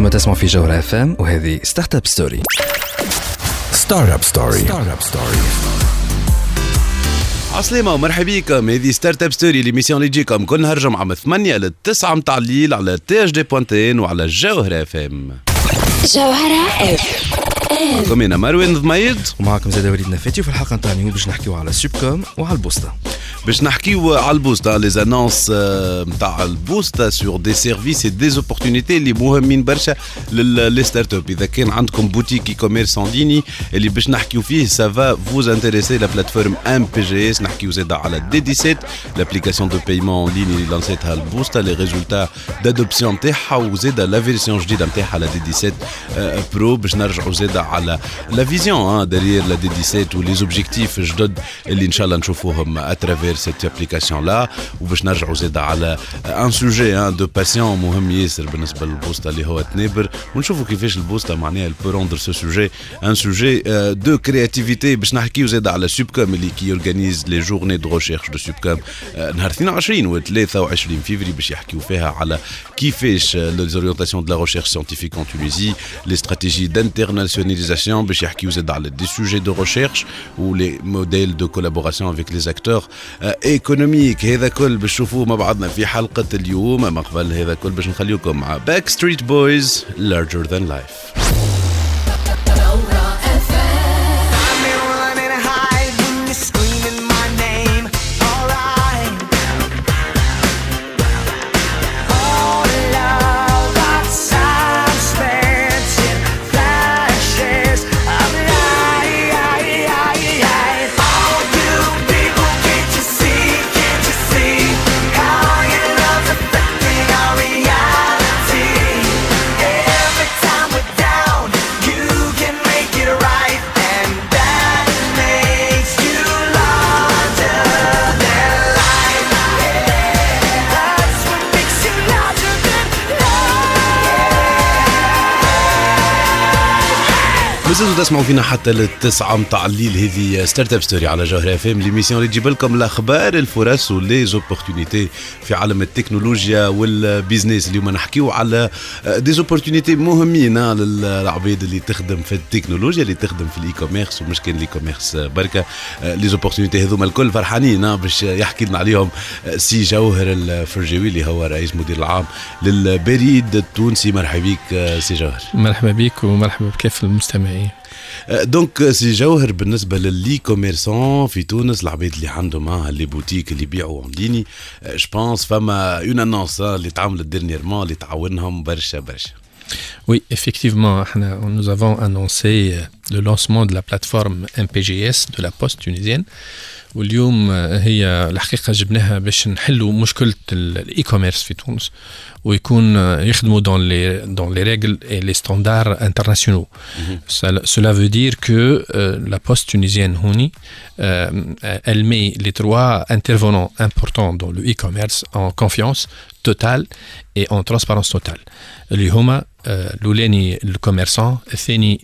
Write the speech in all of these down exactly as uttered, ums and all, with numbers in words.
أنتم تسمعوا في جوهرة اف ام وهذه ستارت اب ستوري. ستارت اب ستوري. ستارت اب ستوري. عسلامة ومرحبا بكم. هذه ستارت اب ستوري ليميسيون اللي تجيكم كل نهار جمعة من ثمانية للتسعة متاع الليل على تي اش دي بوانتين وعلى جوهرة اف ام. جوهرة اف ام. كم أنا مروان ضميد ومعكم زاد وليد نفاتي. في الحلقة نتاع اليوم باش نحكيو على سوبكوم وعلى البوستا. باش نحكيو على البوستا لي زانونس نتاع البوستا سور دي سيرفيس اي دي اوبورتونيتي اللي مهمين برشا للي ستارت اب. اذا كان عندكم بوتيك اي كوميرس اون ليني اللي باش نحكيو فيه سافا فوز انتريسي لا بلاتفورم ام بي جي اس. نحكيو زاد على دي دي سبعة لابليكاسيون دو بايمون اون ليني اللي لانسيتها البوستا لي ريزولتا دادوبسيون نتاعها وزاد لا فيرسيون جديده نتاعها لا دي دي سبعة برو. باش نرجعوا زاد على لا فيزيون ديريير لا دي دي سبعة ولي زوبجيكتيف جدد اللي ان شاء الله نشوفوهم اترافير cette application là. وباش نرجعوا زاد على ان سوجي دو باسيون مهم ياسر بالنسبه للبوستا اللي هو تنابر ونشوفوا كيفاش البوستا معناها البو روندر سو سوجي ان سوجي دو كرياتيفيتي. باش نحكيو زاد على سوبكوم اللي كي اورغانيز لي جورني دو ريشيرش دو سوبكوم نهار اثنين وعشرين و ثلاثة وعشرين فيفري باش يحكيو فيها على كيفاش لي زوريونتاسيون دو لا ريشيرش ساينتيفيك ان تونيزي لي استراتيجي دانترناسيوناليزاسيون باش يحكيو زاد على دي سوجي دو ريشيرش و لي موديل دو كولابوراسيون افيك لي اكتور ايكونوميك. هذا كل باش نشوفوه مع بعضنا في حلقة اليوم. اما قبل هذا كل باش نخليكم مع باك ستريت بويز Larger Than Life. مازلتوا تسمعوا فينا حتى للتسعة متاع الليل. هذه ستارت اب ستوري على جوهرة اف ام ليميسيون اللي تجيب لكم الاخبار الفرص ولي زوبورتونيتي في عالم التكنولوجيا والبيزنس. اليوم نحكيو على دي زوبورتونيتي مهمين للعباد اللي تخدم في التكنولوجيا اللي تخدم في الاي كوميرس ومش كان الاي كوميرس بركه. لي زوبورتونيتي هذوما الكل فرحانين باش يحكي لنا عليهم سي جوهر الفرجاوي اللي هو رئيس مدير العام للبريد التونسي. مرحبا بك سي جوهر. مرحبا بك ومرحبا بكافة المستمعين. دونك سي جوهر بالنسبه للي كوميرسون في تونس العباد اللي عندهم ها لي بوتيك اللي يبيعوا اون ليني جو بونس فما اون انونس اللي تعملت ديرنييرمون اللي تعاونهم برشا برشا. Oui, effectivement, nous avons annoncé le lancement de la plateforme M P G S de la Poste tunisienne. واليوم هي الحقيقة جبناها باش نحلوا مشكلة الاي كوميرس في تونس ويكون يخدموا dans les dans les règles et les standards internationaux. Cela veut dire que euh, la Poste tunisienne هوني euh, elle met les trois intervenants importants dans le e-commerce en confiance totale et en transparence totale. اللي هما الأولاني الكوميرسان، الثاني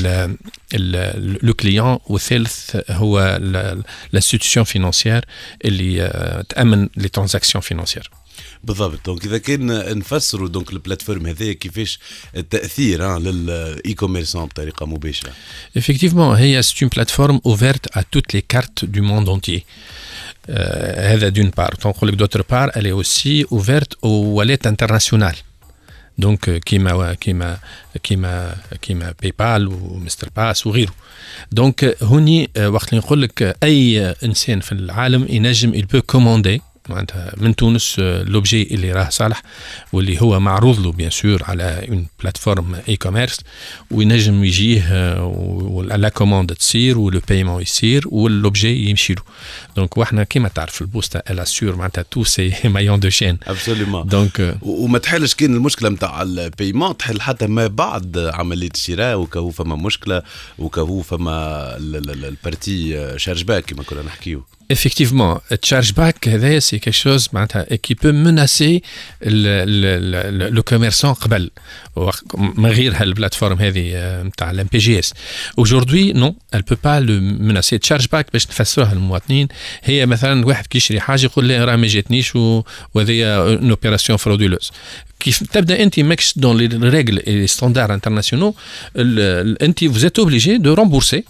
لو كليون، والثالث هو l'institution financière اللي تأمن لي ترانزاكسيون فينانسيير. بالضبط. دونك اذا كان نفسروا دونك البلاتفورم هذه كيفاش التاثير للاي كوميرسون بطريقه مباشره. Effectivement, هي c'est une plateforme ouverte à toutes les cartes du monde entier. Euh, هذا d'une part. Donc d'autre part, elle est aussi ouverte aux wallets internationales. Donc كيما كيما كيما كيما بايبال ومستر باس وغيره. دونك هوني وقت اللي نقول لك اي انسان في العالم ينجم il peut commander معناتها من تونس لوبجي اللي راه صالح واللي هو معروض له بيان سور على اون بلاتفورم اي كوميرس وينجم يجيه ولا كوموند تصير ولو بايمون يصير واللوبجي يمشي له. دونك واحنا كيما تعرف البوستا الا سور معناتها تو سي مايون دو شين ابسوليومون. دونك وما تحلش كان المشكله نتاع البايمون تحل حتى ما بعد عمليه الشراء وكهو فما مشكله وكهو فما البارتي شارج باك كما كنا نحكيو. effectivement, chargeback, c'est quelque chose qui peut menacer le, le, le, le commerçant قبل من غير هالبلاتفورم هذه نتاع الام بي جي اس. Aujourd'hui, non, elle peut pas le menacer. chargeback باش نفسروها للمواطنين هي مثلا واحد كيشري حاجه يقول لي راه ما جاتنيش وهذه اون اوبيراسيون فرودولوز. كيف تبدا انت ماكش دون لي ريغل اي ستاندارد انترناسيونال انت vous êtes obligé de rembourser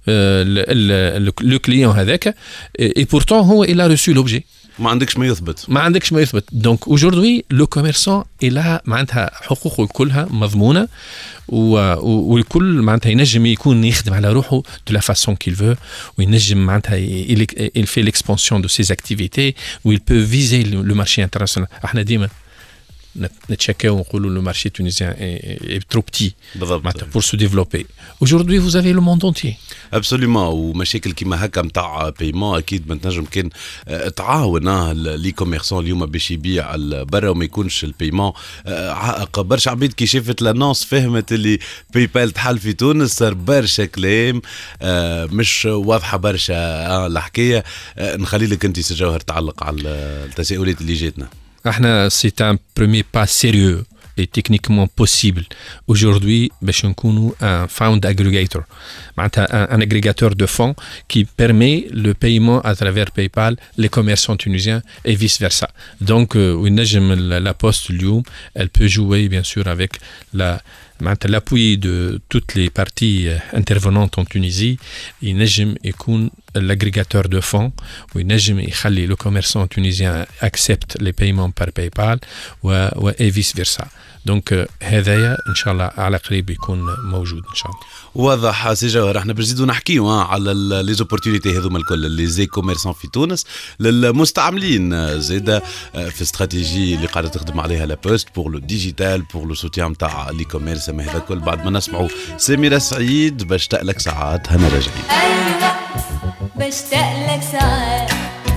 le client هذاك et pourtant هو il a reçu l'objet. ما عندكش ما يثبت ما عندكش ما يثبت. donc aujourd'hui le commerçant il a معناتها حقوقه كلها مضمونه والكل معناتها ينجم يكون يخدم على روحه de la façon qu'il veut وينجم معناتها il, il fait l'expansion de ses activités où il peut viser le marché international. احنا ديما نتشكاو ونقولوا le marché tunisien est, est trop petit pour se développer. Aujourd'hui vous avez le monde entier. absolument. ومشاكل كيما هكا نتاع بايمون اكيد ما تنجم كان تعاون لي كوميرسون اليوم باش يبيع برا وما يكونش البايمون عائق. برشا عبيد كي شافت لانونس فهمت اللي باي بال تحل في تونس صار برشا كلام مش واضحه برشا الحكايه. نخلي لك انت سجوهر تعلق على التساؤلات اللي جاتنا. احنا c'est un premier pas sérieux et techniquement possible aujourd'hui باش نكونوا un fund aggregator معناتها un agrégateur de fonds qui permet le paiement à travers PayPal les commerçants tunisiens et vice versa. donc ونجم la poste اليوم elle peut jouer bien sûr avec la l'appui de toutes les parties intervenantes en Tunisie. ينجم يكون l'agrégateur de fonds وينجم يخلي le commerçant tunisien accepte les paiements par PayPal و, و et vice versa. donc هذايا ان شاء الله على قريب يكون موجود ان شاء الله. واضح سي جوهر. احنا باش نزيدوا نحكيو على لي زوبورتونيتي هذوما الكل لي زي كوميرسون في تونس للمستعملين زاده في استراتيجي اللي قاعده تخدم عليها لا بوست بور لو ديجيتال بور لو سوتيان تاع لي كوميرس. ما هذا الكل بعد ما نسمعوا سميرة سعيد بشتاق لك ساعات. هنا راجعين. ايوه بشتاق لك ساعات.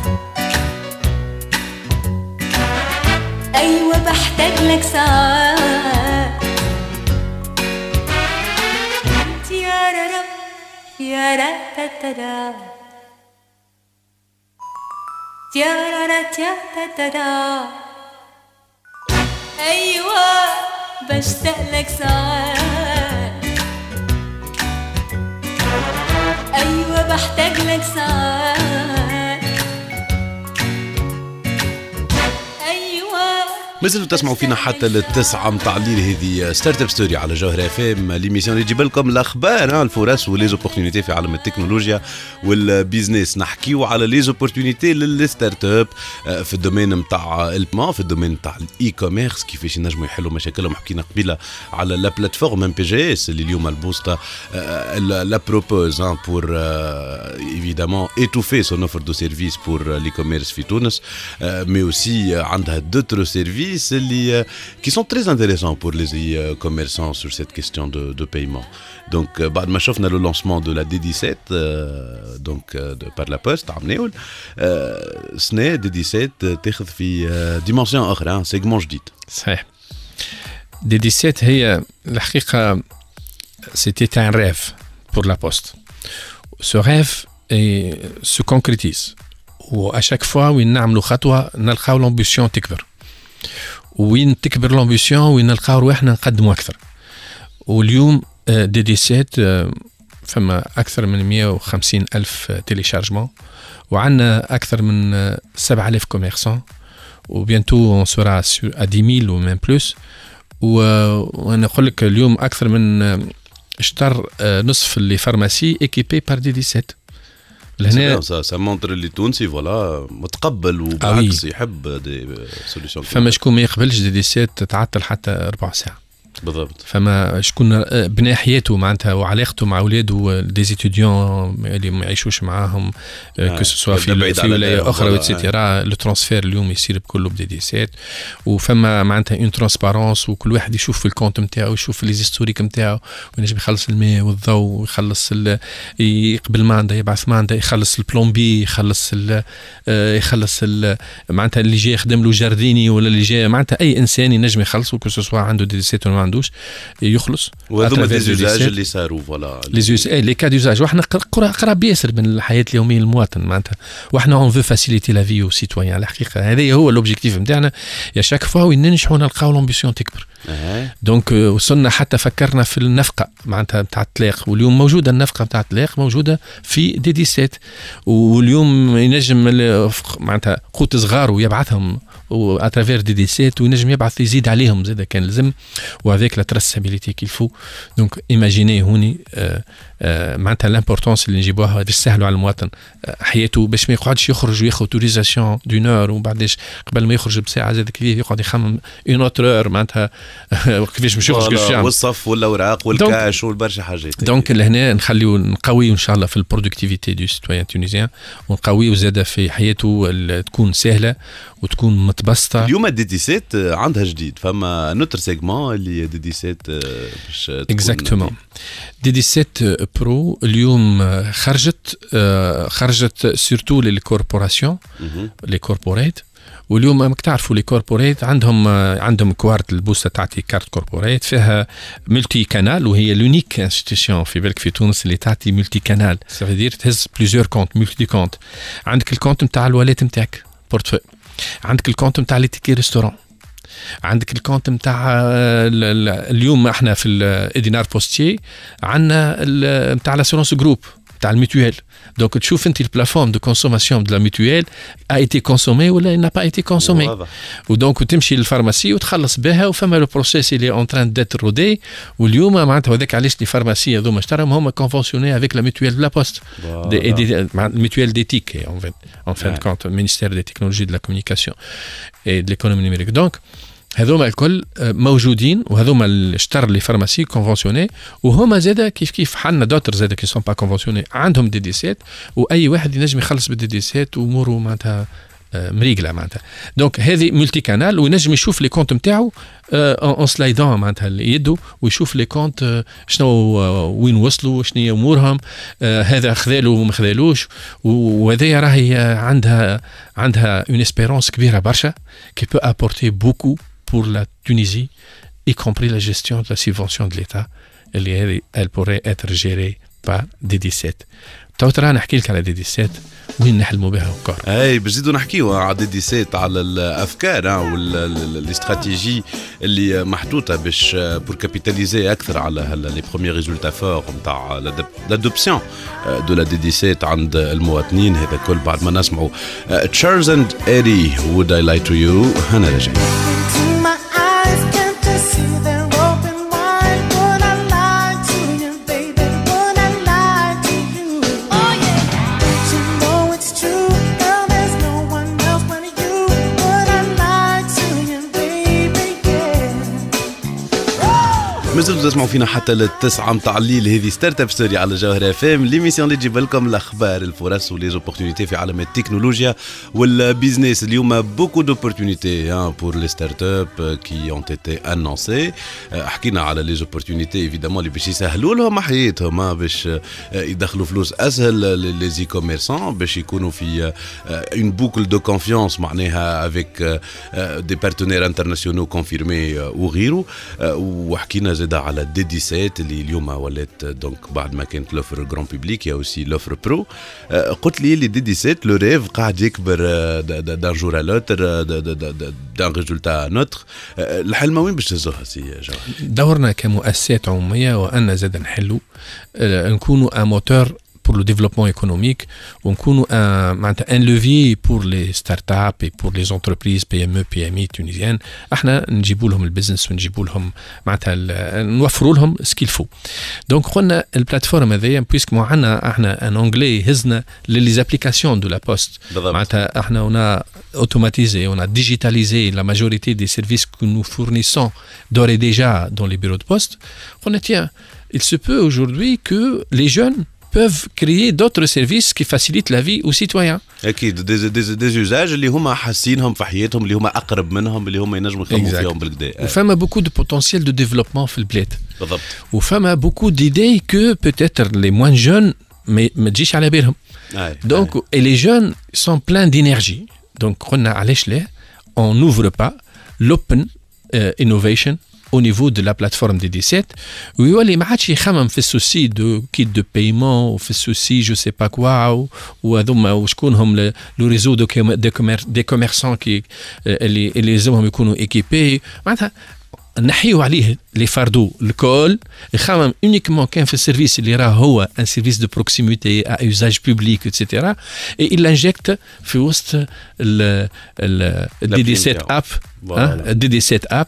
ايوه بحتاج لك ساعات. تيارارا يارا تترا تيارارا تترا. ايوه بشتاق لك ساعات. ايوه بحتاج لك ساعات. ايوه مازالوا تسمعوا فينا حتى للتسعة متاع الليل. هذه ستارت اب ستوري على جوهر اف ام ليميسيون اللي تجيب لكم الاخبار الفرص وليزوبورتونيتي في عالم التكنولوجيا والبيزنس. نحكيو على ليزوبورتونيتي للستارت اب في الدومين نتاع البما في الدومين نتاع الاي كوميرس كيفاش ينجموا يحلوا مشاكلهم. حكينا قبيله على لا بلاتفورم ام بي جي اس اللي اليوم البوستا لا بروبوز بور ايفيدامون ايتوفي سون اوفر دو سيرفيس بور لي كوميرس في تونس مي اوسي عندها دوتر سيرفيس اللي qui sont très intéressants pour les commerçants sur cette question de, de paiement. Donc بعد ما شفنا le lancement de la دي dix-sept euh, donc de, par la poste عمناول سنة دي dix-sept تاخذ في ديمونسيون أخرى سيجمون جديد. صحيح. دي dix-sept هي الحقيقة c'était un rêve pour la poste. Ce rêve est, se concrétise وà chaque fois وين نعملوا خطوة نلقاو l'ambition تكبر. وين تكبر الامبيسيون وين نلقاو روحنا نقدموا اكثر. واليوم دي dix-sept فما اكثر من مئة وخمسين الف تيليشارجمون وعندنا اكثر من سبعة آلاف كوميرسون وبيانتو اون سورا ا dix mille و ميم بلوس. وانا نقول لك اليوم اكثر من اشتر نصف اللي فارماسي ايكيبي بار دي dix-sept. لهنا سا مونتر اللي تونسي فوالا متقبل وبالعكس يحب دي سوليوشن. فما شكون ما يقبلش دي dix-sept تعطل حتى ربع ساعه بالضبط. فما شكون بنى حياته معناتها وعلاقته مع اولاده دي زيتيديون اللي ما يعيشوش معاهم كو سوا في في ولايه اخرى واتسيتيرا. لو ترانسفير اليوم يصير بكله بدي dix-sept وفما معناتها اون ترانسبارونس وكل واحد يشوف في الكونت نتاعو يشوف لي هيستوريك نتاعو وينجم يخلص الماء والضوء ويخلص يقبل ماندا يبعث ماندا يخلص البلومبي يخلص ال يخلص ال معناتها اللي جاي يخدم له جارديني ولا اللي جاي معناتها اي انسان ينجم يخلصه كو سوا عنده دي dix-sept ولا عندوش يخلص. وهذوما دي زوجاج اللي صاروا فوالا لي زوج لي كا ديوزاج وحنا قراب ياسر من الحياه اليوميه للمواطن معناتها وحنا اون فو فاسيليتي لا في او سيتويان الحقيقه هذا هو الاوبجيكتيف نتاعنا يا شاك فوا وين ننجحوا نلقاو لومبيسيون تكبر. أه. دونك وصلنا حتى فكرنا في النفقه معناتها نتاع الطلاق واليوم موجوده النفقه نتاع الطلاق موجوده في دي دي سبعة واليوم ينجم معناتها قوت صغار ويبعثهم واترافير دي دي سبعة وينجم يبعث يزيد عليهم زاد كان لازم وافيك لا تراسابيليتي كيل فو. دونك ايماجيني هوني آه آه معناتها لامبورطونس اللي نجيبوها باش نسهلوا على المواطن آه حياته باش ما يقعدش يخرج وياخذ اوتوريزاسيون دون اور وبعدش قبل ما يخرج بساعه زاد كيف يقعد يخمم اون اوتر معناتها كيفاش باش يخرج كيفاش يعمل والصف والاوراق والكاش والبرشا حاجات. دونك لهنا نخليو نقويو ان شاء الله في البرودكتيفيتي دو سيتويان تونيزيان ونقويو زاد في حياته تكون سهله وتكون متبسطه. اليوم دي دي سبعة عندها جديد فما نوتر سيجمون اللي دي دي سبعة باش اكزاكتومون دي دي سبعة برو اليوم خرجت خرجت سورتو للكوربوراسيون لي كوربوريت واليوم راك تعرفوا لي كوربوريت عندهم عندهم كوارت البوسه تعطي كارت كوربوريت فيها ملتي كانال وهي لونيك انستيتيوشن في بالك في تونس اللي تعطي ملتي كانال سافي دير تهز بليزيور كونت ملتي كونت. عندك الكونت نتاع الوالات نتاعك بورتفوي عندك الكونت نتاع لي تيكي ريستورون عندك الكونت نتاع اليوم احنا في الادينار بوستي عندنا نتاع لاسورونس جروب تاع الميتويل. دونك تشوف انت البلافون دو كونسوماسيون دو لا ميتويل ا ايتي كونسومي ولا نا با ايتي كونسومي ودونك تمشي للفارماسي وتخلص بها وفما لو بروسيس اللي اون تران ديتر رودي واليوم معناتها هذاك علاش لي فارماسي هذوما اشتراهم هما كونفونسيوني افيك لا ميتويل دو لا بوست الميتويل ديتيك ان فين ان فين كونت مينيستير دي تكنولوجي دو لا كومونيكاسيون اي دو ليكونومي نيميريك. دونك هذوما الكل موجودين وهذوما اللي اشتروا لي فارماسي كونفونسيوني وهما زاده كيف كيف حنا دوتر زاده كي سون با كونفونسيوني عندهم دي دي سبعة واي واحد ينجم يخلص بالدي دي سبعة واموره معناتها مريقله معناتها. دونك هذه ملتي كانال وينجم يشوف لي كونت نتاعو اون سلايدون معناتها يده ويشوف لي كونت شنو وين وصلوا شنو هي امورهم هذا خذالو وما خذالوش وهذه راهي عندها عندها اون اسبيرونس كبيره برشا كي بو ابورتي بوكو pour la Tunisie, y compris la gestion de la subvention de l'État, elle pourrait être gérée par D D سبعة. تو ترى نحكي لك على دي دي سبعة وين نحلموا بها وكار. اي باش نزيدوا نحكيوا على دي دي سبعة على الافكار والاستراتيجي اللي محطوطه باش بور كابيتاليزي اكثر على لي بروميير ريزولتا فور نتاع لادوبسيون دو لا دي دي سبعة عند المواطنين. هذا كل بعد ما نسمعوا تشارلز اند ايري would I lie to you هنا رجع. مازلتوا تسمعوا فينا حتى للتسعة متاع الليل. هذه ستارت اب ستوري على جوهر اف ام ليميسيون اللي تجيب لكم الاخبار الفرص ولي زوبورتونيتي في عالم التكنولوجيا والبيزنس. اليوم بوكو دوبورتونيتي بور لي ستارت اب كي اون تيتي انونسي. حكينا على لي زوبورتونيتي ايفيدامون اللي باش يسهلوا لهم حياتهم باش يدخلوا فلوس اسهل لي زي كوميرسون باش يكونوا في اون بوكل دو كونفيونس معناها افيك دي بارتنير انترناسيونال كونفيرمي وغيره. وحكينا زاد على دي دي سبعة اللي اليوم ولات دونك بعد ما كانت لوفر جران بوبليك يا اوسي لوفر برو. قلت لي لي دي دي سبعة لو ريف قاعد يكبر دان جور ا لوتر دان ريزولتا نوتر. الحلم وين باش تهزوها سي جوهر؟ دورنا كمؤسسات عموميه وان زاد نحلوا نكونوا ان موتور pour le développement économique ونكونوا معناتها ان لوفي pour les startups et pour les entreprises بي ام او بي ام اي تونيزيان. احنا نجيبوا لهم البزنس ونجيبوا لهم معناتها نوفروا لهم سكيل فو. دونك قلنا البلاتفورم هذيا بويسك مو عندنا احنا ان انجلي هزنا لي زابليكاسيون دو لا بوست معناتها احنا ونا automatisé, on a digitalisé la majorité des services que nous fournissons d'ores et déjà dans les bureaux de poste. On a tiens, il se peut aujourd'hui que les jeunes peuvent créer d'autres services qui facilitent la vie aux citoyens. اكيد دي دي دي usages اللي هما حاسينهم في حياتهم اللي هما اقرب منهم اللي هما ينجموا يخدموا فيهم بالكدا. وفما beaucoup de potentiel de développement في البلاد. بالضبط. وفما beaucoup d'idées que peut-être les moins jeunes ما ما تجيش على بالهم. Donc et les jeunes sont pleins d'énergie. Donc قلنا علاش لا on n'ouvre pas l'open uh, innovation au niveau de la plateforme دي دي سبعة ويولي ما عادش يخمم في السوسي دو كيت دو بايمون وفي السوسي جو سي با كوا وهذوما وشكون هم لو ريزو دو دي كوميرسون كي اللي اللي لازمهم يكونوا ايكيبي معناتها نحيو عليه لي فاردو الكل يخمم اونيكمون كان في السيرفيس اللي راه هو ان سيرفيس دو بروكسيميتي ا يوزاج بوبليك ايتترا اي il injecte في وسط ال الدي دي سبعة اب الدي دي سبعة اب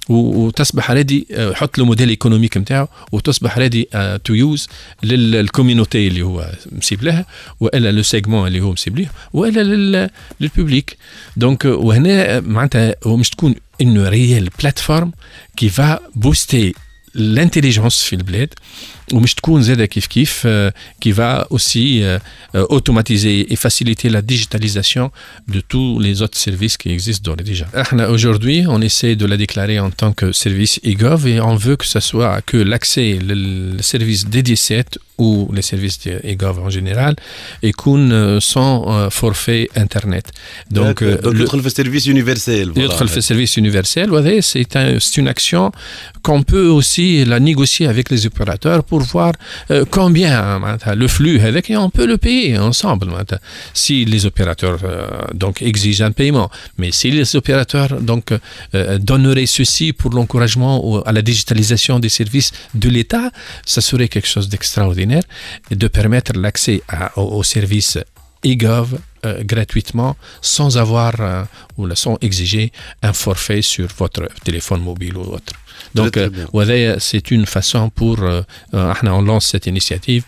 وتصبح ريدي يحط له موديل ايكونوميك نتاعو وتصبح ريدي تو يوز للكوميونيتي اللي هو مسيب لها والا لو سيجمون اللي هو مسيب ليه والا للبوبليك دونك وهنا معناتها هو مش تكون une réelle plateforme qui va booster l'intelligence في البلاد ومش تكون زادة كيف كيف qui va aussi automatiser et faciliter la digitalisation de tous les autres services qui existent déjà. Aujourd'hui, on essaie de la déclarer en tant que service e-gov et on veut que ce soit que l'accès le service D D sept ou les services e-gov en général يكون sans forfait internet. Donc يدخل في service universel. يدخل في service universel وهذا c'est un, c'est une action qu'on peut aussi la négocier avec les opérateurs pour voir euh, combien euh, le flux avec et on peut le payer ensemble euh, si les opérateurs euh, donc exigent un paiement mais si les opérateurs donc euh, donneraient ceci pour l'encouragement à la digitalisation des services de l'État ça serait quelque chose d'extraordinaire et de permettre l'accès à, aux, aux services e-gov euh, gratuitement sans avoir euh, ou sans exiger un forfait sur votre téléphone mobile ou autre. Donc, euh, c'est une façon pour, euh, on lance cette initiative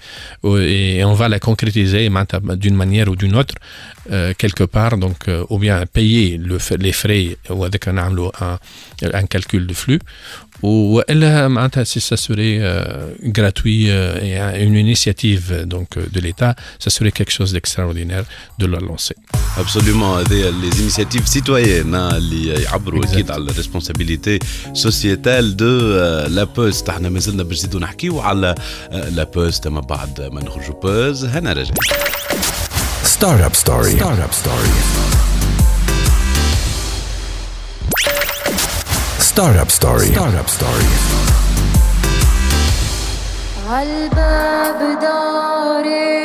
et on va la concrétiser d'une manière ou d'une autre, euh, quelque part, donc, euh, ou bien payer le, les frais ou avec un, un, un calcul de flux, ou si ça serait euh, gratuit euh, et une initiative donc, de l'État, ça serait quelque chose d'extraordinaire de la lancer. Absolument, les initiatives citoyennes اللي يعبروا أكيد على responsabilité sociétale de la Poste. احنا ما زلنا باش نزيدوا نحكيوا على la Poste ما بعد ما نخرجوا بوز. هنا رجع. Startup Story. Startup Story. Startup Story. Startup Story. عالباب داري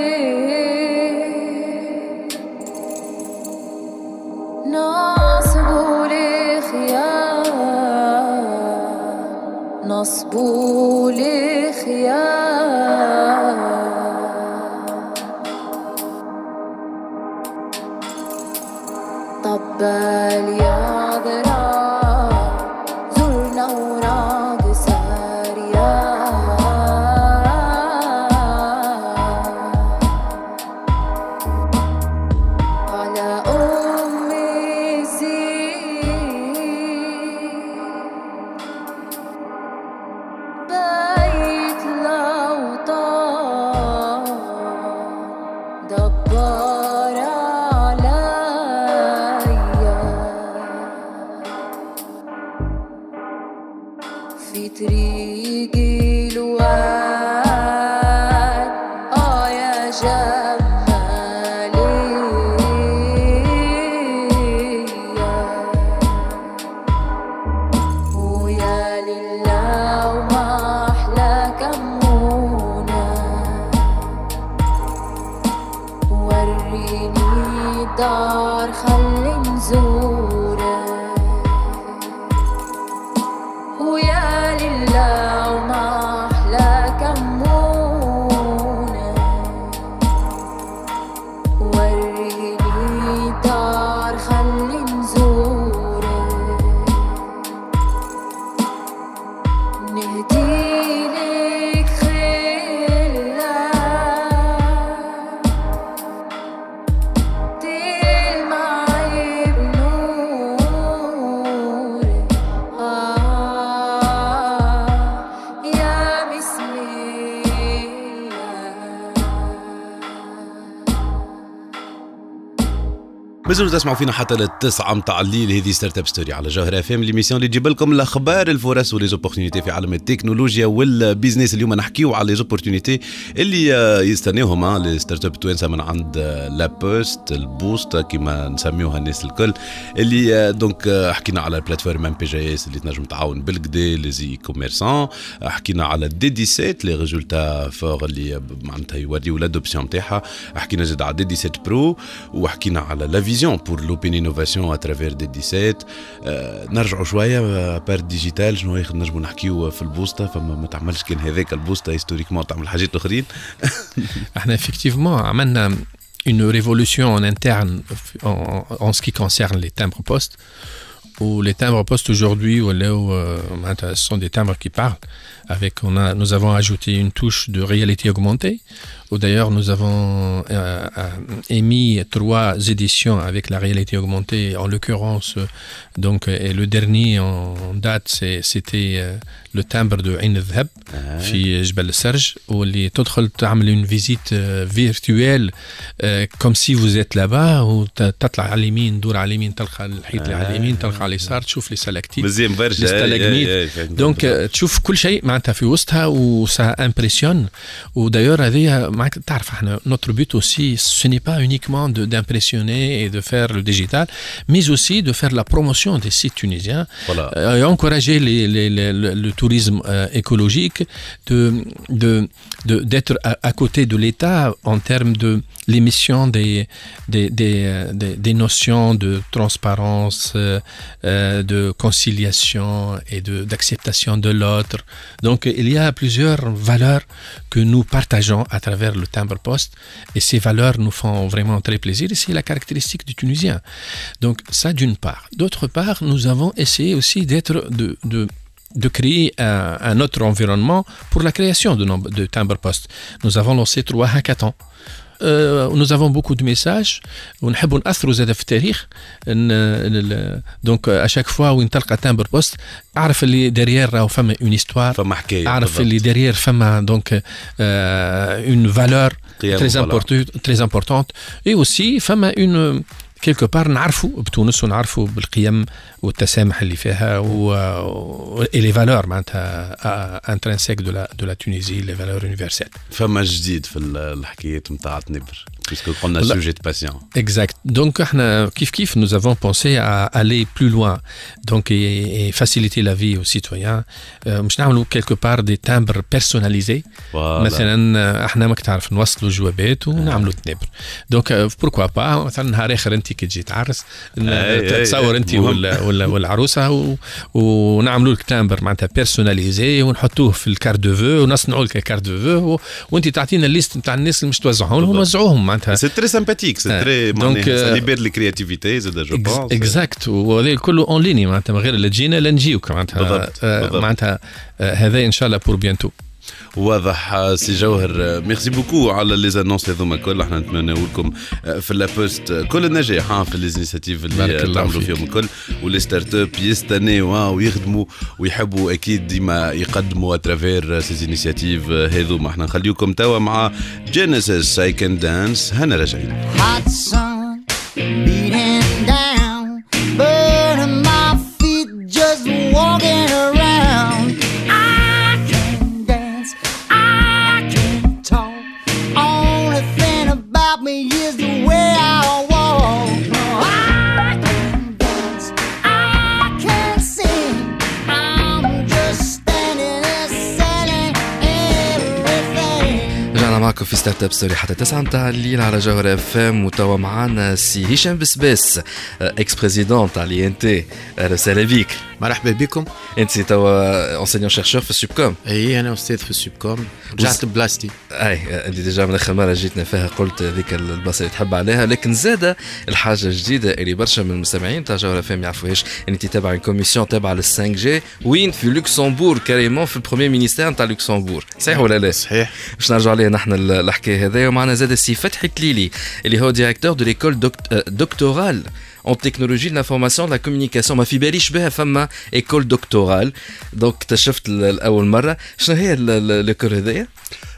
نصبوا لي خيار نصبوا لي خيار طبال يا ضرار زرنا وراق ساريا على أمي زين بيت الأوطان دبار عليا في طريقي الواد آه يا جمالي ويا لله وما أحلى كمونة وريني الدار خلي نزورك ويا لله وما أحلى كمونة مازالوا تسمعوا فينا حتى للتسعة متاع الليل. هذه ستارت اب ستوري على جوهر اف ام، ليميسيون اللي تجيب لكم الاخبار الفرص وليزوبورتينيتي في عالم التكنولوجيا والبيزنس. اليوم نحكيو على ليزوبورتينيتي اللي يستناوهم لي ستارت اب توانسه من عند لا بوست البوست كما نسميوها الناس الكل، اللي دونك حكينا على البلاتفورم ام بي جي اس اللي تنجم تعاون بالكدا لي زي كوميرسون. حكينا على دي دي سبعة لي ريزولتا فور اللي معناتها يوريو لادوبسيون نتاعها. حكينا زاد على دي دي سبعة برو، وحكينا على لا فيزيون pour l'open innovation à travers دي دي سبعة. أه نرجعوا شويه بار ديجيتال شنو ياخذ نجموا نحكيو في البوسطه، فما ما تعملش كان هذاك البوسطه هيستوريكمون تعمل حاجات اخرين. احنا effectivement عملنا une révolution en interne en, en ce qui concerne les timbres postes, où les timbres postes aujourd'hui euh, ce sont des timbres qui parlent. Avec, on a, nous avons ajouté une touche de réalité augmentée, où d'ailleurs nous avons euh, émis trois éditions avec la réalité augmentée. En l'occurrence, donc, et le dernier en date, c'est, c'était euh, le timbre de Ain al-Dhab, في جبل السرج, où اللي تدخل تعمل une visite euh, virtuelle euh, comme si vous êtes là-bas, وتطلع على اليمين دور على اليمين تلقى الحيط اللي على اليمين تلقى على اليسار تشوف لي سلاكتيت مزيان برشا. دونك تشوف كل شيء معناتها في وسطها وسا امبرسيون. ودايور هذه معك تعرف احنا notre but aussi ce n'est pas uniquement de d'impressionner et de faire le digital, mais aussi de faire la promotion des sites tunisiens, voilà. euh, et encourager les, les, les, le, le tourisme euh, écologique, de, de, de, d'être à, à côté de l'État en termes de l'émission des, des, des, des, des notions de transparence, euh, de conciliation et de, d'acceptation de l'autre. Donc il y a plusieurs valeurs que nous partageons à travers le timbre poste, et ces valeurs nous font vraiment très plaisir, et c'est la caractéristique du Tunisien. Donc ça d'une part. D'autre part, nous avons essayé aussi d'être de, de de créer un, un autre environnement pour la création de, de timbre poste. Nous avons lancé trois hackathons. Euh, nous avons beaucoup de messages ونحبوا نأثروا زاد في التاريخ. دونك à chaque fois وين تلقى تامبر بوست اعرف اللي derrière راهو فما une histoire, فما حكايه, اعرف اللي derrière فما donc euh, une valeur très importante très importante, et aussi فما une quelque part نعرفوا بتونس ونعرفوا بالقيم والتسامح اللي فيها و et les valeurs معناتها intrinsèques de la de la Tunisie, les valeurs universelles. فما جديد في الحكايات نتاع تنبر puisque قلنا sujet de patient. Exact. Donc احنا كيف كيف nous avons pensé à aller plus loin, donc et, et faciliter la vie aux citoyens. مش نعملوا quelque part des timbres personnalisés. مثلا احنا ماك تعرف نوصلوا جوابات ونعملوا تنبر. donc pourquoi pas مثلا نهار اخر انت كي تجي تعرس تصور انت ولا ولا والعروسه ونعملوا لك تامبر معناتها بيرسوناليزي ونحطوه في الكارت دو فو ونصنعوا لك الكارت دو فو وانت تعطينا الليست نتاع الناس اللي مش توزعهم لهم ونوزعوهم معناتها. سي تري سامباتيك, سي تري معناتها ليبر لي كرياتيفيتي زاد جو بونس. اكزاكت. وهذا كله اون ليني معناتها من غير لا تجينا لا نجيوك معناتها معناتها هذا ان شاء الله بور بيانتو. واضح سي جوهر. ميرسي بوكو على لي زانونس هذوما الكل. احنا نتمنوا لكم في لابوست كل النجاح في لي انيشيتيف اللي تعملوا فيهم الكل, ولي ستارت اب يستناو ويخدموا ويحبوا اكيد ديما يقدموا اترافير سي انيشيتيف هذوما. احنا نخليوكم توا مع جينيسيس اي كان دانس. هنا راجعين. معكم في ستارت اب ستوري حتى تسعة متاع الليل على جوهر اف ام. وتوا معنا سي هشام بسباس اكس بريزيدون تاع لي ان تي. اهلا وسهلا بيك. مرحبا بكم. انت توا اونسينيون شيرشور في السوبكوم. اي انا استاذ في السوبكوم. رجعت بلاستي. اي انت ديجا من اخر مره جيتنا فيها قلت ذيك البلاصه اللي تحب عليها, لكن زاده الحاجه الجديده اللي برشا من المستمعين تاع جوهر اف ام يعرفوهاش ان انت تابع كوميسيون تابعه لل خمسة جي وين في لوكسمبورغ كاريمون في البروميير مينيستير تاع لوكسمبورغ. صحيح ولا لا؟ صحيح. باش نرجعوا عليه نحن الحكايه هذايا. ومعنا زاد السي فتحي تليلي اللي هو ديريكتور دو ليكول دكتورال en technologie de l'information de la communication. ما في باليش بها فما école doctorale, donc اكتشفت الأول مرة. شنو هي الكور هذايا؟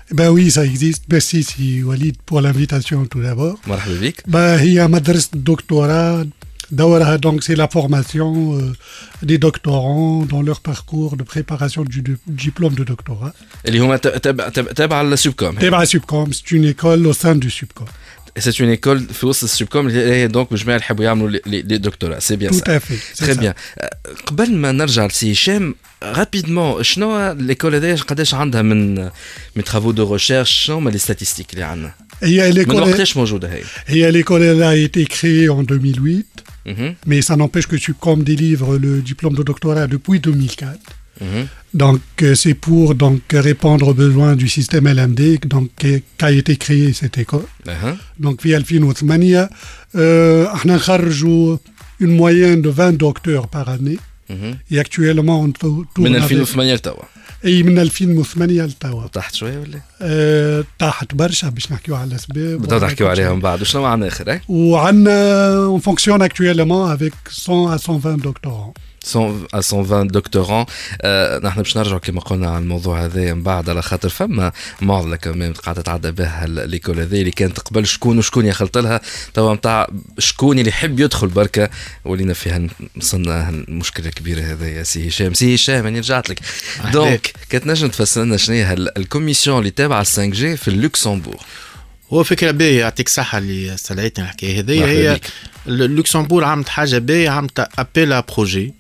Ben oui, ça existe. Merci si Walid pour l'invitation tout d'abord. مرحبا بك. Ben, هي مدرسة الدكتوراه دورها donc c'est la formation euh, des doctorants dans leur parcours de préparation du, du diplôme de doctorat. اللي هما تبع تبع تبع السوبكوم. تبع Subcom, c'est une école au sein du Subcom. C'est une école في وسط السوبكوم اللي هي دونك بالجماعة اللي يحبوا يعملوا لي دكتوراه. سي بيان. Tout à fait. تري بيان. قبل ما نرجع لسي هشام رابيدمون شنو ليكول هذايا قداش عندها من من travaux de recherche شنو هما لي ستاتيستيك اللي عندنا؟ هي من l'école وقتاش موجودة هي؟ هي l'école elle a été créée en deux mille huit. Mhm. Mais ça n'empêche que Subcom délivre le diplôme de doctorat depuis deux mille quatre. Mhm. Donc euh, c'est pour donc répondre aux besoins du système L M D donc qu'a été créée cette école. أها. Donc في ألفين وثمانية euh, احنا نخرجوا une moyenne de vingt docteurs par année. Mhm. Et actuellement on tourne من avec- ألفين وثمانية لتوا. اي من ألفين وثمانية لتوا. تحت شوية ولا؟ أه طاحت برشا باش نحكيو على الاسباب. بدنا نحكيو عليهم بعد وشنو عندنا آخر إيه؟ وعندنا on fonctionne actuellement avec cent à cent vingt doctorants. cent à cent vingt دكتوران. آه نحن باش نرجعوا كما قلنا على الموضوع هذا من بعد على خاطر فما معضله كمان قاعده تتعدى بها ليكول هذه اللي كانت قبل شكون وشكون يخلط لها توا نتاع شكون اللي يحب يدخل بركه ولينا فيها وصلنا المشكله الكبيره هذا يا سي هشام. سي هشام انا رجعت لك دونك كتنجم تفسر لنا شنو هي الكوميسيون اللي تابعه خمسة جي في اللوكسمبورغ؟ هو فكره باهيه يعطيك صحه اللي استدعيتني الحكايه هذه. مرحبا هي بك. اللوكسمبورغ عملت حاجه باهيه، عملت ابيل بروجي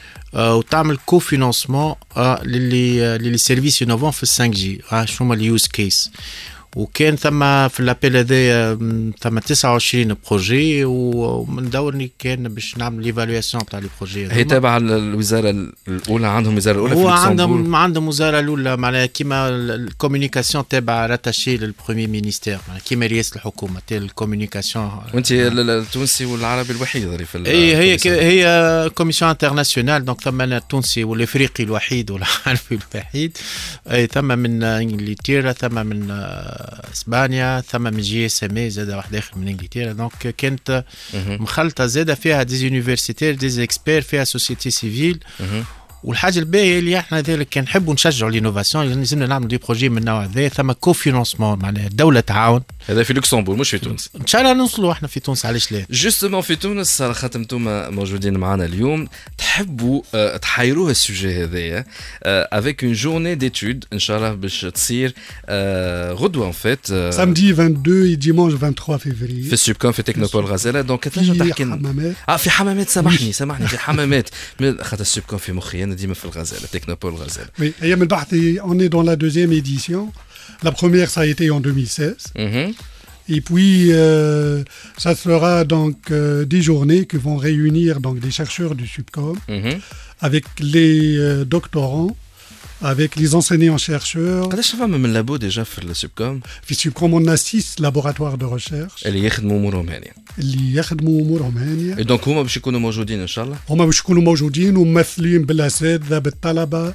وتعمل كوفينانسمون للي للي سيرفيس انوفون في خمسة جي. شنو هما اليوز كيس؟ وكان ثم في الابيل هذايا ثم تسعة وعشرين بروجي ومن دورني كان باش نعمل ليفالواسيون تاع لي بروجي. هي تابعه الوزاره الاولى، عندهم وزاره الاولى في هو اللوكسمبورغ. عندهم عندهم وزاره الاولى معناها كيما الكوميونيكاسيون تابع راتاشي للبروميي مينيستير كيما رئاسه الحكومه تاع الكوميونيكاسيون. وانت التونسي والعربي الوحيد اللي في اي هي هي كوميسيون انترناسيونال دونك ثم التونسي والافريقي الوحيد والعربي الوحيد. اي ثم من انجلترا، ثم من اسبانيا، ثم من جي اس ام اي زاد واحد اخر من انجلترا. دونك كانت مخلطه زاده فيها دي يونيفرسيتير دي اكسبير، فيها سوسيتي سيفيل. والحاجه الباهيه اللي احنا ذلك كان نحبوا نشجعوا الانوفاسيون، لازمنا نعملوا دي بروجي من النوع هذا. ثم كوفينانسمون معناها الدوله تعاون. هذا في لوكسمبورغ مش في تونس. ان شاء الله نوصلوا احنا في تونس، علاش لا. جوستومون في تونس على خاطر انتم موجودين معنا اليوم تحبوا uh, تحيروها السوجي هذايا افيك اون جورني ديتود ان شاء الله باش تصير uh, غدوه ان فيت samedi vingt-deux et dimanche vingt-trois février في السوبكوم في تكنوبول غزاله. دونك تنجم في تحكي لنا حمامات. اه في حمامات. سامحني سامحني في حمامات من خاطر السوبكوم في مخي انا ديما في الغزاله تكنوبول غزاله. Oui, أيام البحث on est dans la deuxième édition. La première ça a été en deux mille seize. اها Et puis euh, ça sera donc euh, des journées qui vont réunir donc des chercheurs du Subcom اها avec les euh, doctorants, avec les enseignants-chercheurs. قداش فما من لابو ديجا في السوبكوم في Subcom on a six laboratoires de recherche اللي يخدموا امورهم هانيه؟ اللي يخدموا امورهم هانيه. اي دونك هما باش يكونوا موجودين ان شاء الله. هما باش يكونوا موجودين وممثلين بالاساتذه بالطلبه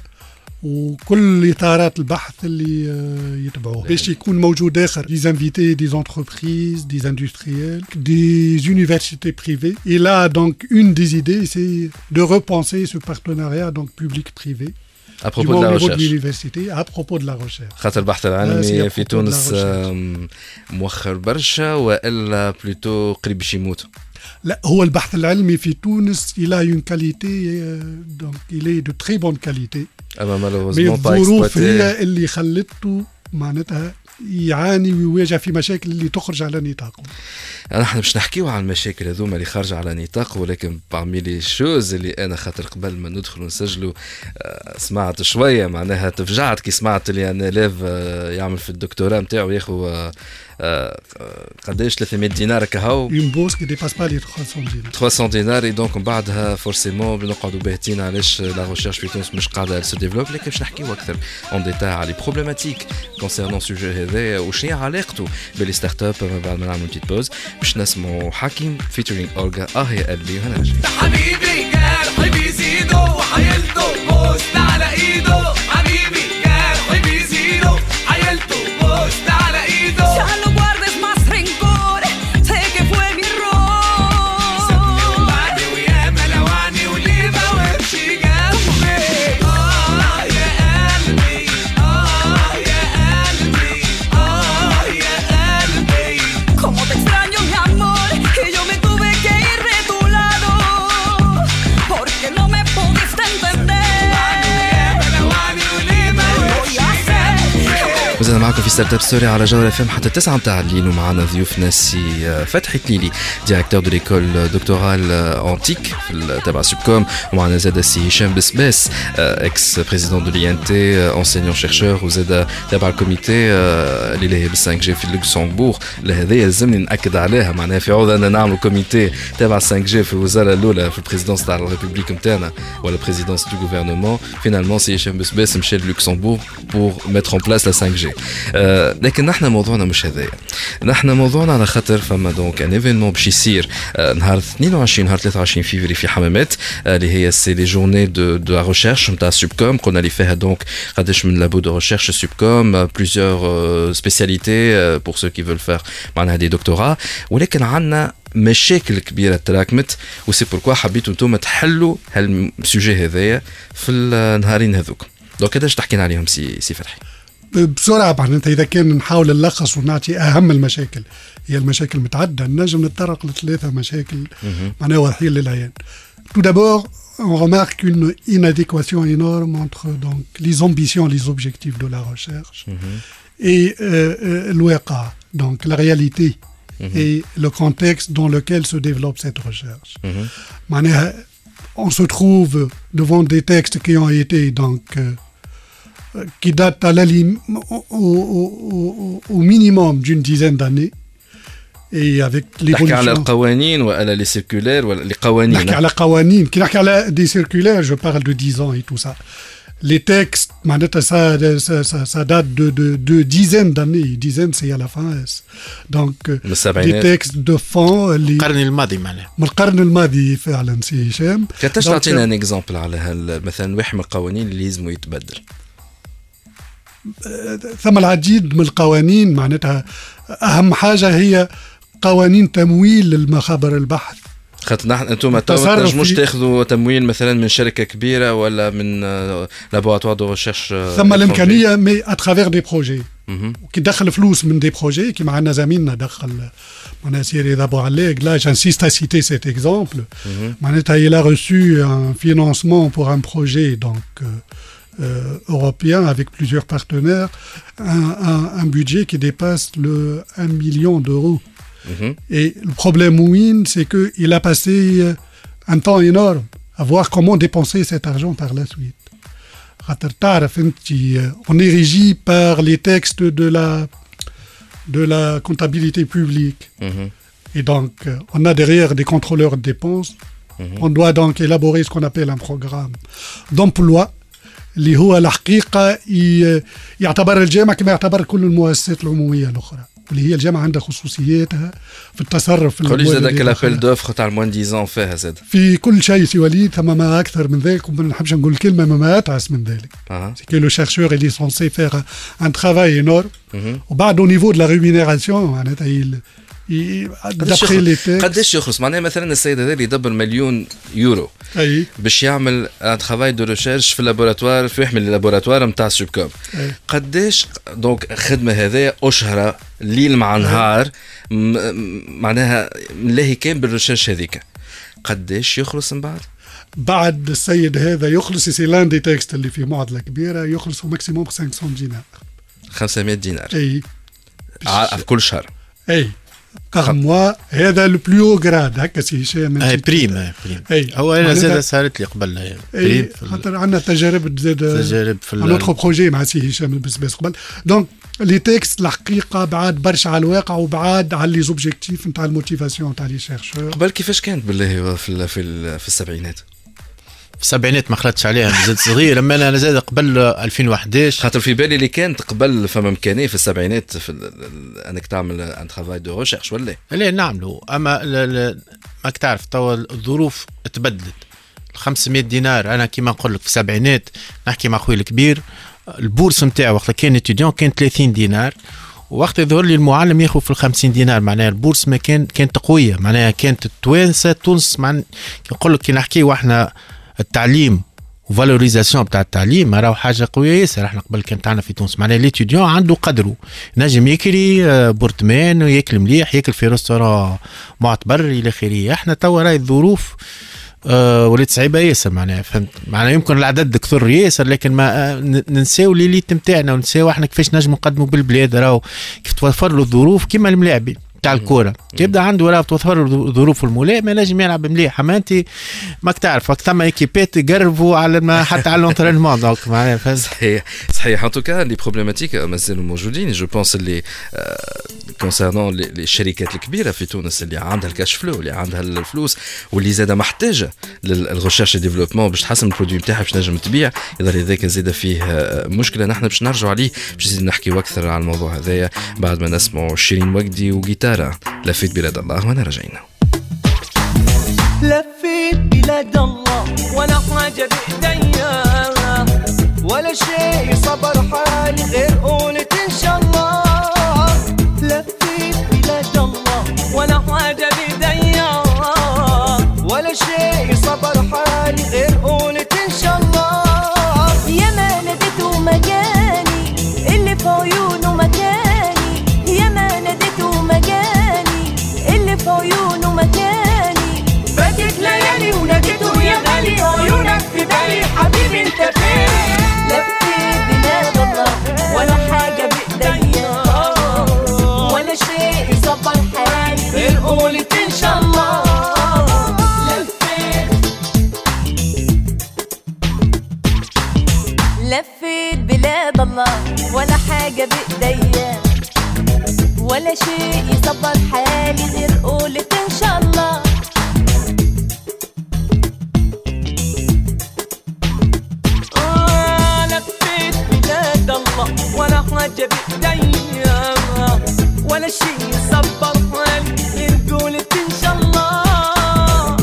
وكل اطارات البحث اللي آه، يتبعوه باش يكون موجود اخر دي انفيتي دي انتربريز دي اندستريels دي universités privées. Et là donc une des idées c'est de repenser ce partenariat donc public privé à propos de la au niveau de recherche. l'université à propos de la recherche. خاطر البحث آه، العلمي سي في propos de la تونس recherche. آم، مؤخر برشا والا بلوتو قريب باش يموت. لا هو البحث العلمي في تونس il a une qualité euh, donc il est de très bonne qualité. اما مي مالوزمون با الظروف اكسبلوتي. هي اللي خلته معناتها يعاني ويواجه في مشاكل اللي تخرج على نطاقه. نحن باش نحكيو على المشاكل هذوما اللي خارجه على نطاق، ولكن بارمي لي شوز اللي انا خاطر قبل ما ندخل ونسجلوا آه، سمعت شويه معناها تفجعت كي سمعت اللي انا ليف آه، يعمل في الدكتوراه نتاعو ياخذ آه، آه، قداش ثلاثمية دينار كهو Une bourse qui dépasse pas les trois cents dinars. ثلاثمية دينار. دونك من بعدها فورسيمون بنقعدوا باهتين علاش لا ريشيرش في تونس مش قاعده سو ديفلوب. لكن باش نحكيو اكثر اون ديتاي على لي بروبليماتيك كونسيرنون سوجي هذا وشنو هي علاقته باللي ستارت اب. من بعد ما نعملوا بتيت بوز باش نسمعوا حكيم فيتشرينج اورجا اه يا قلبي وانا جاي. حبيبي جرحي بيزيدو وحيلته بوست على ايده. حبيبي جرحي بيزيدو حيلته بوست على ايده. Ya no guardes más rencor, sé que fue mi error. سابني وبعدي وياما لوعني وليه ما وقفش جنبي. اه يا قلبي اه يا قلبي وزينا معكم في ستارت اب ستوري على جوهرة اف ام حتى تسعة متاع الليل، ومعنا ضيوفنا سي فتحي تليلي ديريكتور دو ليكول دوكتورال انتيك في تبع سوبكوم، ومعنا زاد سي هشام بسباس اكس بريزيدون دو لي ان تي انسينيون شيرشور، وزاد تبع الكوميتي اللي لاهي بال خمسة جي في لوكسمبورغ. لهذا يلزمني ناكد عليها، معناها في عوض ان نعمل كوميتي تبع خمسة جي في الوزاره الاولى في البريزيدونس تاع الريبوبليك نتاعنا ولا بريزيدونس دو غوفرنمون، فينالمون سي هشام بسباس مشى لوكسمبورغ بور ميتر ان بلاس لا خمسة جي. آه لكن نحن موضوعنا مش هذايا، نحن موضوعنا على خاطر فما دونك ان ايفينمون باش يصير آه نهار اثنين وعشرين نهار ثلاثة وعشرين فيفري في حمامات، آه اللي هي سي لي جورني دو دو لا ريشيرش نتاع سوبكوم. قلنا اللي فيها دونك قداش من لابو دو ريشيرش سوبكوم، بليزيور سبيسياليتي بور سو كي فول فير معناها دي دكتوراه، ولكن عندنا مشاكل كبيره تراكمت، وسي بوركوا حبيتوا انتم تحلوا هالسوجي هذايا في النهارين هذوك. دونك قداش تحكينا عليهم سي سي فتحي؟ بسرعة معناتها إذا كان نحاول نلخص ونعطي أهم المشاكل، هي المشاكل متعددة، نجم نتطرق لثلاثة مشاكل معناها واضحين للعيان. Tout d'abord, on remarque une inadéquation énorme entre donc les ambitions, les objectifs de la recherche mm-hmm. et euh, euh, l'ouéqa, donc la réalité mm-hmm. et le contexte dans lequel se développe cette recherche. Mm-hmm. On se trouve devant des textes qui ont été donc euh, qui datent à la lim- au, au, au, au minimum d'une dizaine d'années. Et avec l'évolution. نحكي على القوانين ولا les circulaires ولا les قوانين. نحكي على قوانين، كي نحكي على des circulaires, je parle de dix ans et tout ça. Les textes, ça, ça, ça, ça date de, de, de dizaines d'années. Dizaines, c'est à la fin. Donc, des textes de fond. القرن الماضي معناها. من القرن الماضي فعلا سي هشام. كتاش تعطينا ان اكزامبل على هال مثلا واحد من القوانين اللي لازم يتبدل؟ ثم العديد من القوانين، معناتها أهم حاجة هي قوانين تمويل المخابر البحث. خاطر نحن انتم ما تنجموش تاخذوا تمويل مثلا من شركه كبيره ولا من لابوراتوار دو ريشيرش. ثم الامكانيه مي اترافير دي بروجي كي دخل فلوس من دي بروجي كيما عندنا زميلنا دخل معناها سيري دابو عليك. لا جانسيست ا سيتي سيت اكزامبل، معناتها il a reçu un financement pour un projet donc euh, européen avec plusieurs partenaires, un, un, un budget qui dépasse le un million d'euros. Mmh. Et le problème Win, c'est qu'il a passé un temps énorme à voir comment dépenser cet argent par la suite. On est régi par les textes de la, de la comptabilité publique. Mmh. Et donc, on a derrière des contrôleurs de dépenses. Mmh. On doit donc élaborer ce qu'on appelle un programme d'emploi. اللي هو الحقيقة يعتبر الجامعة كما يعتبر كل المؤسسات العمومية الأخرى، واللي هي الجامعة عندها خصوصياتها في التصرف في الأموال. قولي زادك الأبل دوفر تاع الموان ديزان فيها زاد في كل شيء سي وليد، ثم ما أكثر من ذلك، وما نحبش نقول كلمة ما أتعس من ذلك. سي كو لو شيرشور اللي سونسي فيغ ان ترافاي انورم، وبعد او نيفو دو لا ريمينيراسيون معناتها قداش يخلص. معناها مثلا السيد هذا اللي يدبر مليون يورو أي. باش يعمل ان ترافاي دو ريشيرش في اللابوراتوار في واحد من اللابوراتوار نتاع سوبكوم، قداش دونك خدمه هذايا اشهر ليل مع نهار معناها ملاهي كان بالريشيرش هذيك، قداش يخلص من بعد؟ بعد السيد هذا يخلص سي لان دي تكست اللي في معضله كبيره يخلص ماكسيموم خمسمية دينار. خمسمية دينار اي في كل شهر. اي par mois. هذا لو بلو غراد هكا سي هشام. اي بريم بريم. هو انا زاد صارت لي قبل بريم، خاطر عندنا تجارب زاد تجارب في نوتر بروجي مع سي هشام بس قبل. دونك لي تكست الحقيقه بعاد برشا على الواقع وبعاد على لي زوبجيكتيف نتاع الموتيفاسيون نتاع لي شيرشور. قبل كيفاش كانت بالله في في في السبعينات؟ في السبعينات ما خلطتش عليها، زاد صغير. لما انا زاد قبل ألفين وأحد عشر، خاطر في بالي اللي كانت قبل فما امكانيه في السبعينات في انك تعمل ان ترافاي دو ريشيرش ولا لا نعملوا. اما ماك تعرف توا الظروف تبدلت. خمسمية دينار انا كيما نقول لك في السبعينات نحكي مع خويا الكبير، البورس نتاعو وقت كان اتيديون كان ثلاثين دينار، وقت يظهر لي المعلم ياخذ في الخمسين دينار. معناها البورس ما كان كانت قويه، معناها كانت التوانسه تونس مع نقول لك كي نحكي واحنا التعليم وفالوريزاسيون بتاع التعليم راهو حاجه قويه ياسر. احنا قبل كان تاعنا في تونس معناها ليتيديون عنده قدره، نجم ياكل بورتمان وياكل مليح، ياكل في ريستوران معتبر الى اخره. احنا توا راهي الظروف أه ولات صعيبه ياسر معناها فهمت معناها يمكن العدد كثر ياسر لكن ما أه ننساو ليليت نتاعنا وننساو احنا كيفاش نجموا نقدموا بالبلاد راهو كيف توفر له الظروف كيما الملاعبين تاع الكوره كيبدا عنده ولا توفر ظروف الملائمه نجم يلعب مليح اما انت ماك تعرف ثم ايكيبات يقربوا على ما حتى على لونترينمون دونك معناها صحيح صحيح ان توكا لي بروبليماتيك مازالوا موجودين جو بونس اللي كونسيرنون لي الشركات الكبيره في تونس اللي عندها الكاش فلو اللي عندها الفلوس واللي زاده محتاجه للريشيرش ديفلوبمون باش تحسن البرودوي نتاعها باش نجم تبيع يظهر هذاك زاده فيه مشكله نحن باش نرجعوا عليه باش نزيد نحكيو اكثر على الموضوع هذايا بعد ما نسمعوا شيرين وجدي وجيتار لفيت بلاد الله وانا رجعنا لفيت بلاد الله ولا حاجة بإيديا ولا شيء صبر حالي غير قولة إن شاء الله لفيت بلاد الله ولا حاجة بإيديا ولا شيء صبر حالي غير قولة إن شاء الله يا ما ناديته مجاني اللي في عيونه مكاني يا ما ناديته مجاني اللي في عيونه مكاني فاتت ليالي وناديته يا غالي عيونك في بالي حبيبي انت فين لفيت بلاد الله ولا حاجة بإيديا ولا شيء يصبر حالي غير قولة إن شاء الله لفيت بلاد الله ولا حاجة بإيديا ولا شيء يصبر حالي غير قولة إن شاء الله آه لفيت بلاد الله ولا حاجة بإيديا ولا شيء يصبر حالي غير قولة إن شاء الله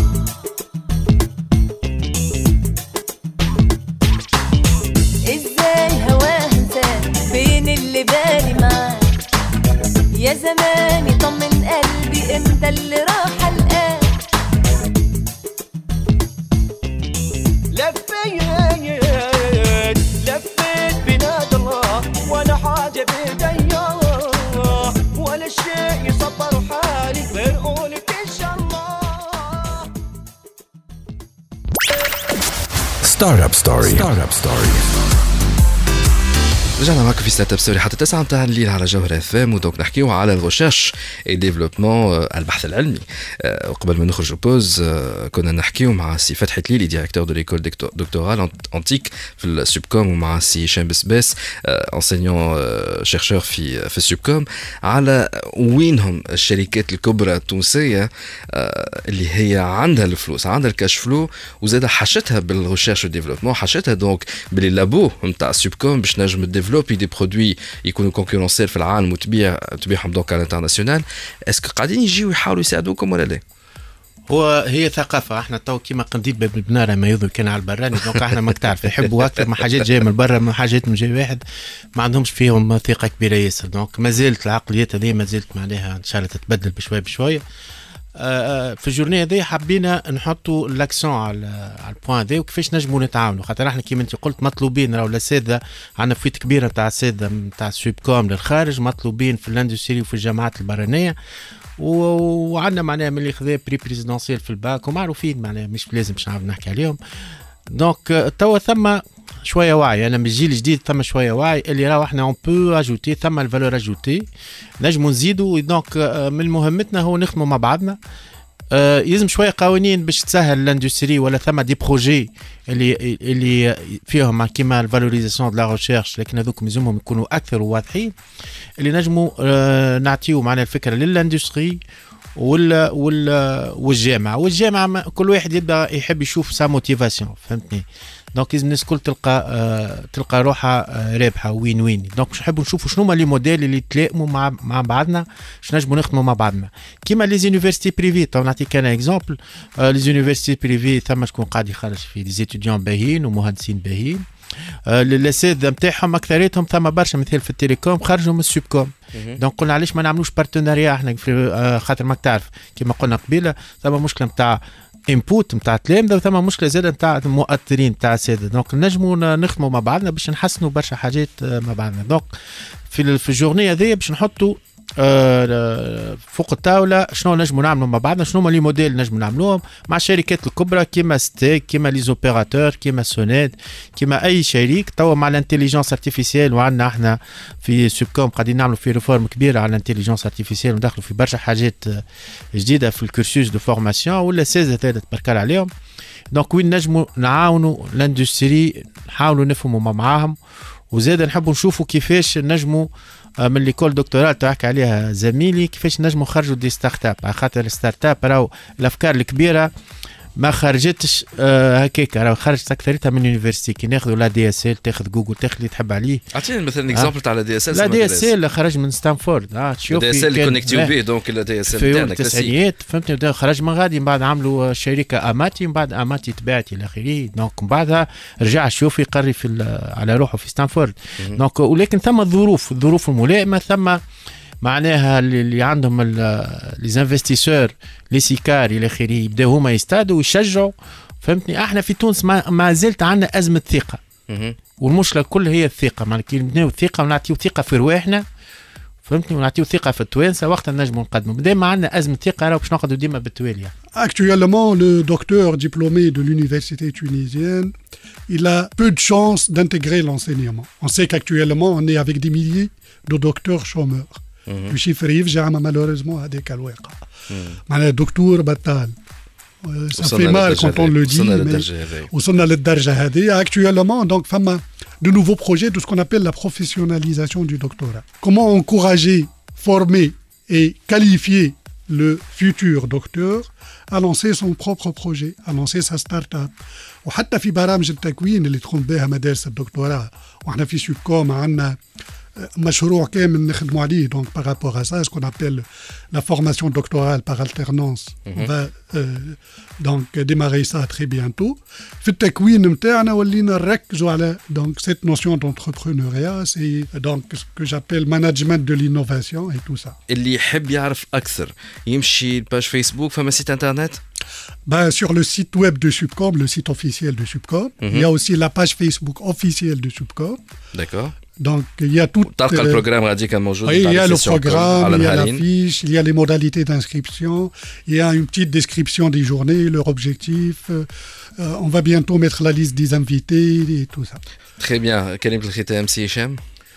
إزاي هواه إنسان بين اللي بالي معاه يا زماني طمن قلبي امتى اللي راح الآن لفيت لفيت بلاد الله ولا حاجة بإيديا ولا شيء يصبر حالي غير قولك إن شاء الله ستارت اب ستوري ستارت اب ستوري رجعنا معكم في ستارت اب ستوري حتى تسعة متاع الليل على جوهر اف ام ودونك نحكيو على الريشيرش اي ديفلوبمون البحث العلمي. وقبل ما نخرجوا بوز كنا نحكيو مع سي فتحي تليلي ديريكتور دو ليكول دكتورال انتيك في السوبكوم ومع سي هشام بسباس انسينيون شيرشور في في السوبكوم على وينهم الشركات الكبرى التونسيه اللي هي عندها الفلوس عندها الكاش فلو وزاد حشتها بالريشيرش ديفلوبمون حشتها دونك باللي لابو نتاع السوبكوم باش نجم ديفلوبي دي برودوي يكونوا كونكورونسيل في العالم وتبيع تبيعهم دونك على الانترناسيونال. اسكو قاعدين يجيو يحاولوا يساعدوكم ولا لا؟ هو هي ثقافه احنا تو كيما قنديل باب البناره ما يظهر كان على البراني دونك احنا ماك تعرف يحبوا اكثر من حاجات جايه من برا من حاجات من جاي واحد ما عندهمش فيهم ثقه كبيره ياسر دونك ما زالت العقليات هذه ما زالت معناها ان شاء الله تتبدل بشويه بشويه. في الجورنيه هذه حبينا نحطوا الاكسون على على البوان هذا وكيفاش نجموا نتعاونوا خاطر احنا كيما انت قلت مطلوبين راهو الاساتذه عندنا فويت كبيره نتاع الاساتذه نتاع السوبكوم للخارج مطلوبين في الاندستري وفي الجامعات البرانيه وعندنا معناها من اللي خذا بري بريزيدونسيال في الباك ومعروفين معناها مش لازم باش نعرف نحكي عليهم. دونك توا ثم شويه وعي انا من الجيل الجديد ثم شويه وعي اللي راهو احنا اون بو اجوتي ثم الفالور اجوتي نجموا نزيدوا دونك من مهمتنا هو نخدموا مع بعضنا. يلزم شويه قوانين باش تسهل الاندستري ولا ثم دي بروجي اللي اللي فيهم كيما الفالوريزاسيون دو لا ريشيرش لكن هذوك لازمهم يكونوا اكثر وواضحين اللي نجموا نعطيو معنا الفكره للاندستري ولا ولا والجامعه والجامعه كل واحد يبدا يحب يشوف سا موتيفاسيون فهمتني. دونك لازم الناس الكل تلقى آه تلقى روحها آه رابحه وين وين. دونك باش نحبوا نشوفوا شنو هما لي موديل اللي يتلائموا مع مع بعضنا باش نجموا نخدموا مع بعضنا كيما لي زونيفرسيتي بريفي. تو نعطيك انا اكزومبل آه لي زونيفرسيتي بريفي ثم شكون قاعد يخرج في دي زيتيديون باهيين ومهندسين باهيين آه الاساتذه نتاعهم اكثريتهم ثم برشا مثال في التليكوم خرجوا من السوبكوم. دونك قلنا علاش ما نعملوش بارتناريا احنا آه خاطر ماك تعرف كيما قلنا قبيله ثم مشكله نتاع انبوت نتاع التلامذه وثم مشكله زاده نتاع المؤثرين نتاع الساده. دونك نجموا نخدموا مع بعضنا باش نحسنوا برشا حاجات مع بعضنا. دونك في في الجورنيه هذه باش نحطوا آه فوق الطاوله شنو نجموا نعملوا مع بعضنا، شنو هما لي موديل نجموا نعملوهم مع الشركات الكبرى كيما ستيك كيما لي زوبيراتور كيما سونيد كيما اي شريك. توا مع الانتيليجنس ارتيفيسيال وعندنا احنا في سوبكوم قاعدين نعملوا في ريفورم كبيره على الانتيليجنس ارتيفيسيال وندخلوا في برشا حاجات جديده في الكورسوس دو فورماسيون ولا سيزا تبارك عليهم. دونك وين نجموا نعاونوا لاندستري نحاولوا نفهموا معاهم، وزاد نحبوا نشوفوا كيفاش نجموا من ليكول دكتوراه تحكي عليها زميلي كيفاش نجموا نخرجوا دي ستارت اب، على خاطر الستارت اب راهو الافكار الكبيره ما خرجتش آه هكاك، راهو خرجت اكثرتها من يونيفرسيتي. كي ناخذوا لا دي اس ال تاخذ جوجل تاخذ اللي تحب عليه. اعطيني مثلا اكزامبل تاع لا دي اس ال. لا دي اس ال خرج من ستانفورد، اه تشوف دي اس ال اللي كونيكتيو به دونك لا دي اس ال تاعنا كلاسيك في التسعينيات فهمتني. خرج من غادي من بعد عملوا شركه اماتي، من بعد اماتي تباعت الى اخره، دونك من بعدها رجع شوف يقري في على روحه في ستانفورد. دونك ولكن ثم الظروف الظروف الملائمه، ثم معناها اللي عندهم لي انفستيسور لي سيكار الى اخره يبداو هما يستادوا ويشجعوا. فهمتني احنا في تونس ما, ما زلت عندنا ازمه ثقه، والمشكله كل هي الثقه. معناها كي نبنيو الثقه ونعطيو ثقه في رواحنا فهمتني ونعطيو ثقه في التوانسه وقتها نجموا نقدموا. ديما عندنا ازمه ثقه راهو باش نقعدوا ديما بالتوالي. Actuellement, le docteur diplômé de l'université tunisienne, il a peu de chances d'intégrer l'enseignement. On sait qu'actuellement, on est avec des milliers de docteurs chômeurs. Le chiffre يفجع malheureusement هذاك الواقع. معناها دكتور بطال. Ça fait mal quand on le dit, mais وصلنا للدرجة هذه. Actuellement, donc, فما de nouveaux projets de ce qu'on appelle la professionnalisation du doctorat. Comment encourager, former et qualifier le futur docteur à lancer son propre projet, à lancer sa start-up. وحتى في برامج التكوين اللي تقوم بها مدارس الدكتوراه، وإحنا في سوبكوم عندنا مشروع كامل نخدموا عليه. Donc par rapport à ça, ce qu'on appelle la formation doctorale par alternance, mm-hmm. on va euh, donc démarrer ça très bientôt. في التكوين نتاعنا ولينا نركزوا على donc cette notion d'entrepreneuriat, c'est donc ce que j'appelle management de l'innovation et tout ça. اللي يحب يعرف أكثر يمشي الباج فيسبوك، فما سيت انترنت. Ben, sur le site web de Subcom, le site officiel de Subcom, mm-hmm. il y a aussi la page Facebook officielle de Subcom. D'accord. Donc, il y a tout. تلقى البرنامج غاديك موجود. Oui, il y a le programme, il y a la fiche, il y a les modalités d'inscription, il y a une petite description des journées, leur objectif. Euh, on va bientôt mettre la liste des invités et tout ça. Très bien. كلمة الختام سي هشام.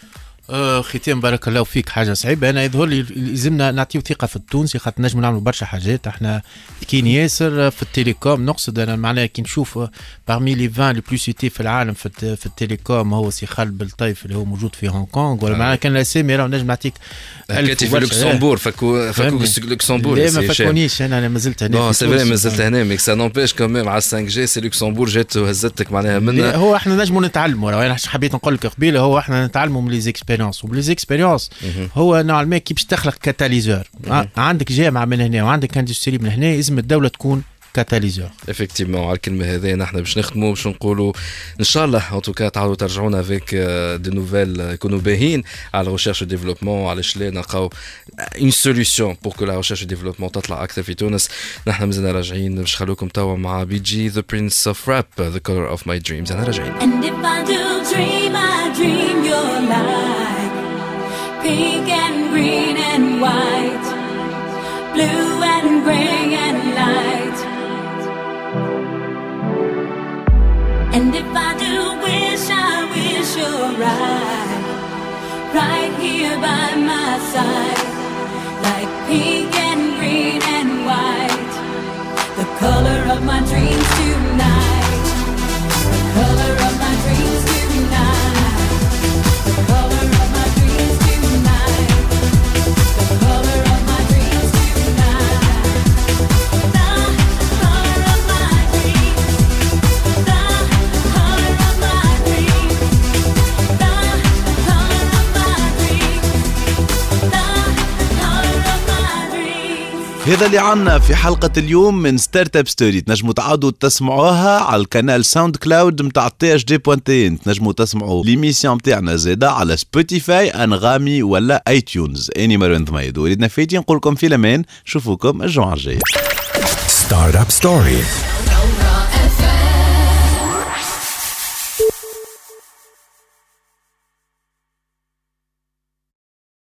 آه ختام بارك الله فيك. حاجه صعيبه انا يظهر لي لازمنا نعطيو ثقه في التونسي خاطر نجموا نعملوا برشا حاجات. احنا كاين ياسر في التليكوم نقصد انا معناها كي نشوف بارمي لي عشرين لي بلو سيتي في العالم في, في التليكوم هو سي خالد بالطيف اللي هو موجود في هونغ كونغ ولا معناها كان الاسامي راه نجم نعطيك حكيتي في لوكسمبورغ فكو فكو لوكسمبورغ. لا ما فكونيش انا انا مازلت هنا. نو سي فري مازلت هنا ميك سا نومبيش كوميم على خمسة جي سي لوكسمبورغ جات وهزتك معناها منها. هو احنا نجموا نتعلموا راه انا حبيت نقول لك قبيله هو احنا نتعلموا من لي زيكسبيريونس وبلي زيكسبيريونس هو نوعا كي باش تخلق كاتاليزور. عندك جامعه من هنا وعندك اندستري من هنا لازم الدوله تكون كاتاليزور. افكتيفمون على الكلمه هذه نحن باش نخدموا باش نقولوا ان شاء الله ان توكا تعاودوا ترجعونا افيك دي نوفيل يكونوا باهين على الريشيرش ديفلوبمون علاش لا نلقاو اون سوليوشن بور كو لا ريشيرش ديفلوبمون تطلع اكثر في تونس. نحن مازلنا راجعين باش نخلوكم توا مع بي جي ذا برنس اوف راب ذا كولر اوف ماي دريمز. انا راجعين. And if I do dream, I dream your light, pink and green and white, blue and gray and light. And if I do wish, I wish you're right, right here by my side, like pink and green and white, the color of my dreams tonight, the color of my dreams tonight, the color of my dreams tonight, the color of my dreams tonight, the color of my dreams, the color of my dreams, the color of my dreams, the color of my dreams. هذا اللي عنا في حلقة اليوم من ستارت اب ستوري. تنجموا تعادوا تسمعوها على القنال ساوند كلاود متاع تي اش دي بوانتين. تنجموا تسمعوا ليميسيون متاعنا زاده على سبوتيفاي انغامي ولا اي تيونز. اني مروان ضميد وليدنا فايتين نقول لكم في الامان. نشوفوكم الجمعة الجاية. ستارت اب ستوري.